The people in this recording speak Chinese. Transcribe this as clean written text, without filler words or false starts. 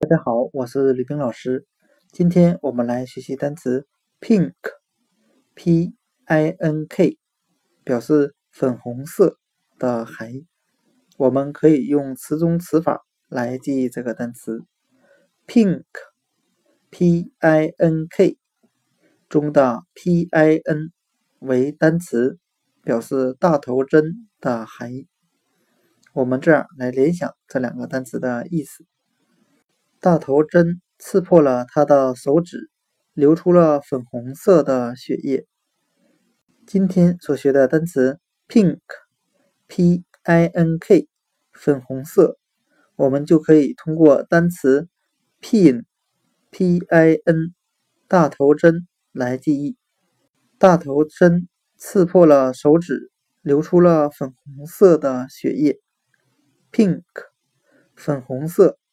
大家好，我是吕冰老师。今天我们来学习单词 pink，P-I-N-K， 表示粉红色的含义。我们可以用词中词法来记忆这个单词 pink，P-I-N-K 中的 P-I-N 为单词，表示大头针的含义。我们这样来联想这两个单词的意思。大头针刺破了他的手指，流出了粉红色的血液。今天所学的单词 pink，P-I-N-K 粉红色，我们就可以通过单词 pin，P-I-N 大头针来记忆。大头针刺破了手指，流出了粉红色的血液。pink 粉红色